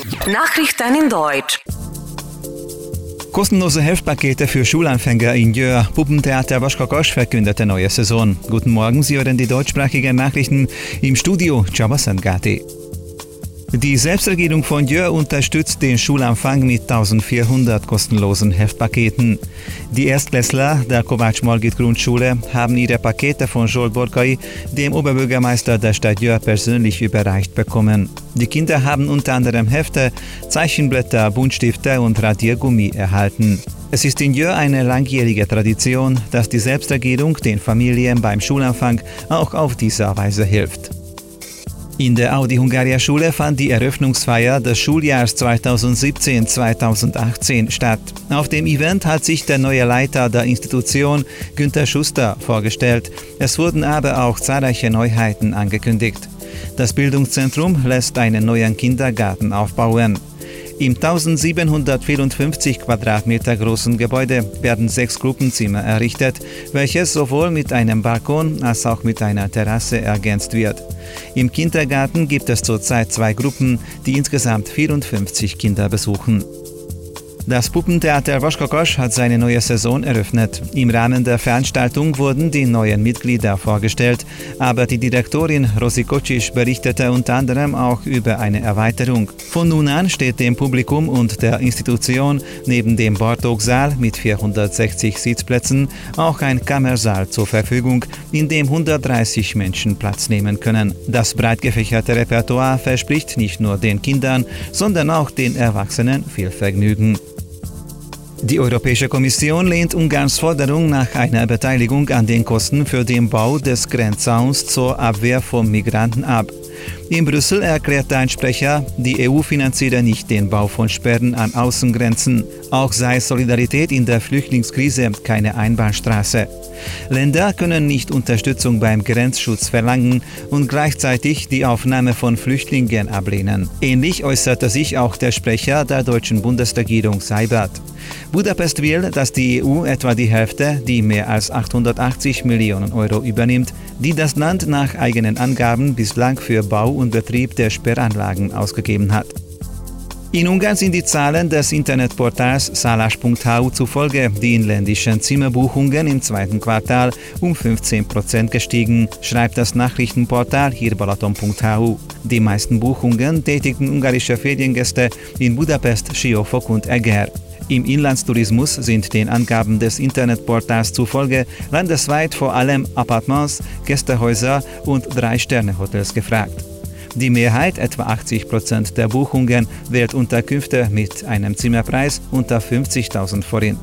Nachrichten in Deutsch. Kostenlose Heftpakete für Schulanfänger in Jöhr. Puppentheater Waschkakosch verkündete neue Saison. Guten Morgen, Sie hören die deutschsprachigen Nachrichten im Studio Csaba Szentgáti. Die Selbstregierung von Jöhr unterstützt den Schulanfang mit 1400 kostenlosen Heftpaketen. Die Erstklässler der Kovács-Margit-Grundschule haben ihre Pakete von Zsolt Borkai, dem Oberbürgermeister der Stadt Jöhr, persönlich überreicht bekommen. Die Kinder haben unter anderem Hefte, Zeichenblätter, Buntstifte und Radiergummi erhalten. Es ist in Jöhr eine langjährige Tradition, dass die Selbstregierung den Familien beim Schulanfang auch auf diese Weise hilft. In der Audi-Hungaria-Schule fand die Eröffnungsfeier des Schuljahrs 2017-2018 statt. Auf dem Event hat sich der neue Leiter der Institution, Günther Schuster, vorgestellt. Es wurden aber auch zahlreiche Neuheiten angekündigt. Das Bildungszentrum lässt einen neuen Kindergarten aufbauen. Im 1754 Quadratmeter großen Gebäude werden 6 Gruppenzimmer errichtet, welches sowohl mit einem Balkon als auch mit einer Terrasse ergänzt wird. Im Kindergarten gibt es zurzeit 2 Gruppen, die insgesamt 54 Kinder besuchen. Das Puppentheater Waschkakosch hat seine neue Saison eröffnet. Im Rahmen der Veranstaltung wurden die neuen Mitglieder vorgestellt, aber die Direktorin Rosi Kocsis berichtete unter anderem auch über eine Erweiterung. Von nun an steht dem Publikum und der Institution neben dem Bartók-Saal mit 460 Sitzplätzen auch ein Kammersaal zur Verfügung, in dem 130 Menschen Platz nehmen können. Das breit gefächerte Repertoire verspricht nicht nur den Kindern, sondern auch den Erwachsenen viel Vergnügen. Die Europäische Kommission lehnt Ungarns Forderung nach einer Beteiligung an den Kosten für den Bau des Grenzzauns zur Abwehr von Migranten ab. In Brüssel erklärte ein Sprecher, die EU finanziere nicht den Bau von Sperren an Außengrenzen. Auch sei Solidarität in der Flüchtlingskrise keine Einbahnstraße. Länder können nicht Unterstützung beim Grenzschutz verlangen und gleichzeitig die Aufnahme von Flüchtlingen ablehnen. Ähnlich äußerte sich auch der Sprecher der deutschen Bundesregierung Seibert. Budapest will, dass die EU etwa die Hälfte, die mehr als 880 Millionen Euro übernimmt, die das Land nach eigenen Angaben bislang für Bau und Betrieb der Sperranlagen ausgegeben hat. In Ungarn sind die Zahlen des Internetportals Szállás.hu zufolge die inländischen Zimmerbuchungen im zweiten Quartal um 15% gestiegen, schreibt das Nachrichtenportal Hírbalaton.hu. Die meisten Buchungen tätigten ungarische Feriengäste in Budapest, Siófok und Eger. Im Inlandstourismus sind den Angaben des Internetportals zufolge landesweit vor allem Appartements, Gästehäuser und 3-Sterne-Hotels gefragt. Die Mehrheit, etwa 80% der Buchungen, wählt Unterkünfte mit einem Zimmerpreis unter 50.000 Forint.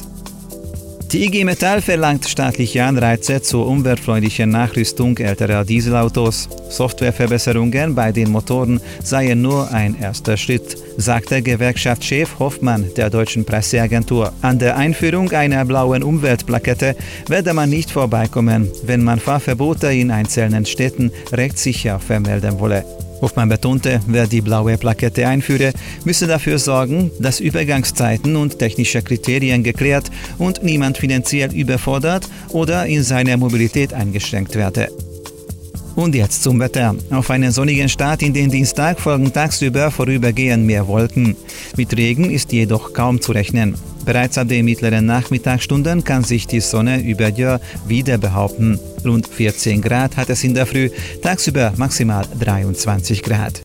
Die IG Metall verlangt staatliche Anreize zur umweltfreundlichen Nachrüstung älterer Dieselautos. Softwareverbesserungen bei den Motoren seien nur ein erster Schritt, sagte Gewerkschaftschef Hoffmann der deutschen Presseagentur. An der Einführung einer blauen Umweltplakette werde man nicht vorbeikommen, wenn man Fahrverbote in einzelnen Städten rechtssicher vermelden wolle. Hoffmann betonte, wer die blaue Plakette einführe, müsse dafür sorgen, dass Übergangszeiten und technische Kriterien geklärt und niemand finanziell überfordert oder in seiner Mobilität eingeschränkt werde. Und jetzt zum Wetter. Auf einen sonnigen Start in den Dienstag folgen tagsüber vorübergehend mehr Wolken. Mit Regen ist jedoch kaum zu rechnen. Bereits ab den mittleren Nachmittagsstunden kann sich die Sonne über Jöhr wieder behaupten. Rund 14 Grad hat es in der Früh, tagsüber maximal 23 Grad.